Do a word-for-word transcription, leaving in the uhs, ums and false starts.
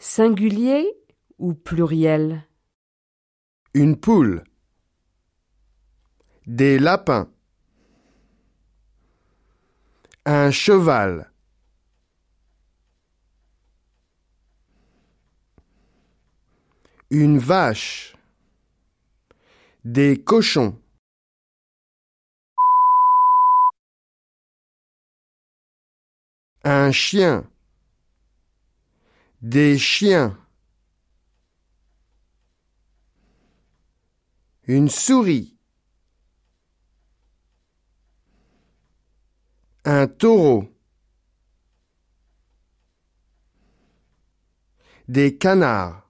Singulier ou pluriel? Une poule. Des lapins. Un cheval. Une vache. Des cochons. Un chien. Des chiens. Une souris. Un taureau. Des canards.